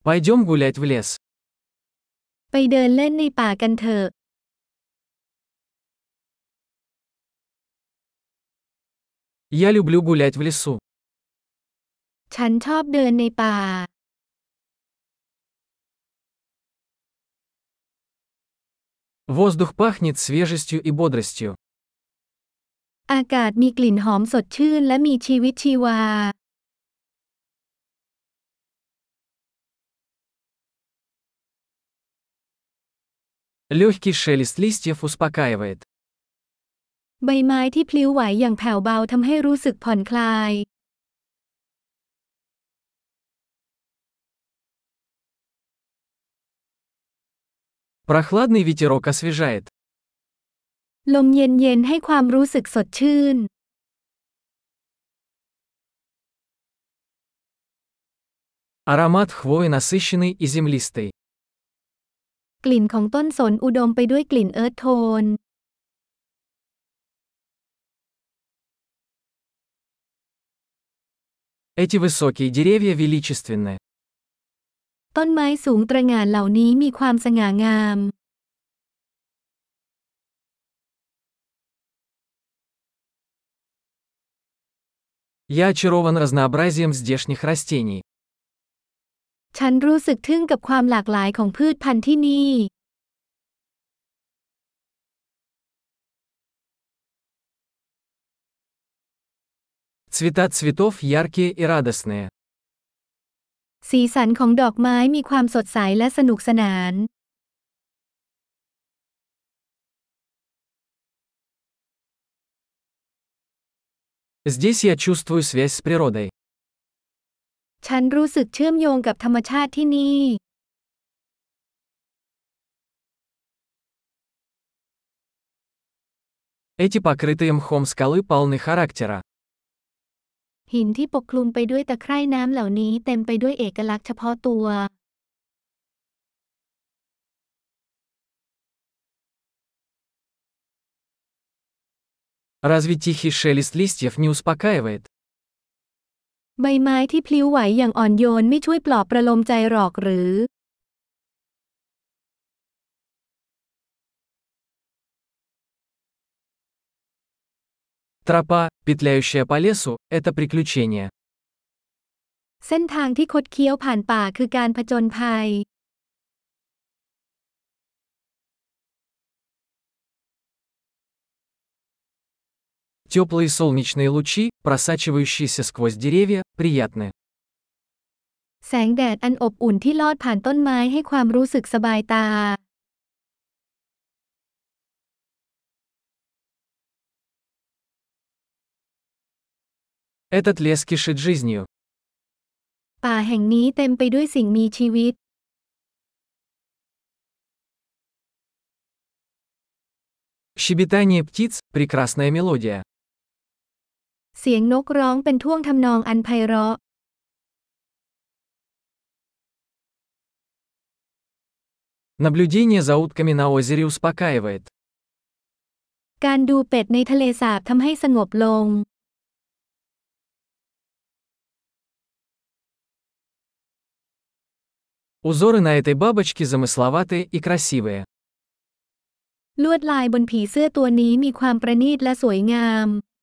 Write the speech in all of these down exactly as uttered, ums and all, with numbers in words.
Пойдем гулять в лес. ไปเดินเล่นในป่ากันเถอะ Я люблю гулять в лесу. ฉันชอบเดินในป่า Воздух пахнет свежестью и бодростью. อากาศมีกลิ่นหอมสดชื่นและมีชีวิตชีวา Легкий шелест листьев успокаивает. ใบไม้ที่พลิ้วไหวอย่างแผ่วเบาทำให้รู้สึกผ่อนคลาย Прохладный ветерок освежает. ลมเย็นๆให้ความรู้สึกสดชื่น Аромат хвои насыщенный и землистый. กลิ่นของต้นสนอุดมไปด้วยกลิ่นเอิร์ธโทน Эти высокие деревья величественны. ต้นไม้สูงตระหง่านเหล่านี้มีความสง่างาม Я очарован разнообразием здешних растений. ฉันรู้สึกทึ่งกับความหลากหลายของพืชพันธุ์ที่นี่ Цвета цветов яркие и радостные. สีสันของดอกไม้มีความสดใสและสนุกสนาน Здесь я чувствую связь с природой. ฉันรู้สึกเชื่อมโยงกับธรรมชาติที่นี่ Эти покрытые мхом скалы полны характера. หินที่ปกคลุมไปด้วยตะไคร่น้ำเหล่านี้เต็มไปด้วยเอกลักษณ์เฉพาะตัว Разве тихий шелест листьев не успокаивает? ใบไม้ที่พลิ้วไหวอย่างอ่อนโยนไม่ช่วยปลอบประโลมใจหรอกหรือ Тропа, петляющая по лесу, это приключение. เส้นทางที่คดเคี้ยวผ่านป่าคือการผจญภัย Теплые солнечные лучи, просачивающиеся сквозь деревья, приятны. แสงแดดอันอบอุ่นที่ลอดผ่านต้นไม้ให้ความรู้สึกสบายตา Этот лес кишит жизнью. ป่าแห่งนี้เต็มไปด้วยสิ่งมีชีวิต Щебетание птиц – прекрасная мелодия. เสียงนกร้องเป็นท่วงทำนองอันไพเราะ Наблюдение за утками на озере успокаивает. การดูเป็ดในทะเลสาบทำให้สงบลง Узоры на этой бабочке замысловатые и красивые. ลวดลายบนผีเสื้อตัวนี้มีความประณีตและสวยงาม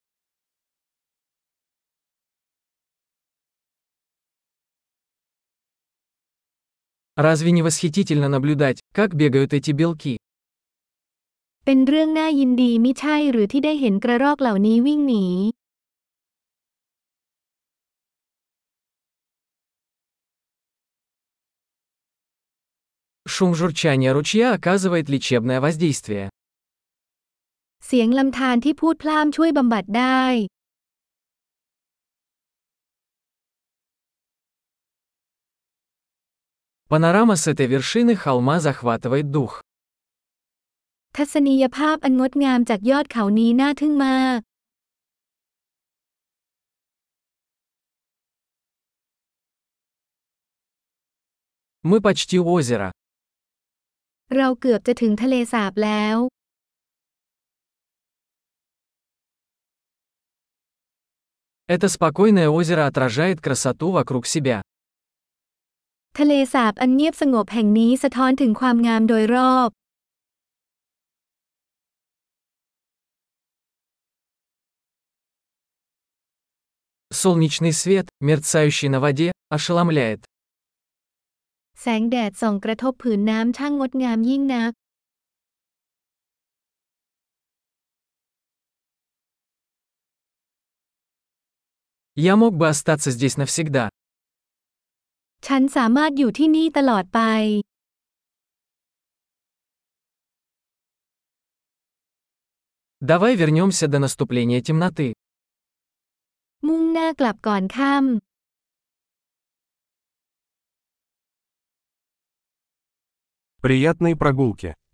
Разве не восхитительно наблюдать, как бегают эти белки? เป็นเรื่องน่ายินดีมิใช่หรือที่ได้เห็นกระรอกเหล่านี้วิ่งหนี Шум журчания ручья оказывает лечебное воздействие. เสียงลำธารที่พูดพล่ามช่วยบำบัดได้ Панорама с этой вершины холма захватывает дух. ทัศนียภาพอันงดงามจากยอดเขานี้น่าทึ่งมาก Мы почти у озера. เราเกือบจะถึงทะเลสาบแล้ว Это спокойное озеро отражает красоту вокруг себя. ทะเลสาบอันเงียบสงบแห่งนี้สะท้อนถึงความงามโดยรอบ Солнечный свет, мерцающий на воде, ошеломляет. แสงแดดส่องกระทบผืนน้ำช่างงดงามยิ่งนัก Я мог бы остаться здесь навсегда. ฉันสามารถอยู่ที่นี่ตลอดไป Давай вернемся до наступления темноты. มุ่งหน้ากลับก่อนค่ำ Приятной прогулки.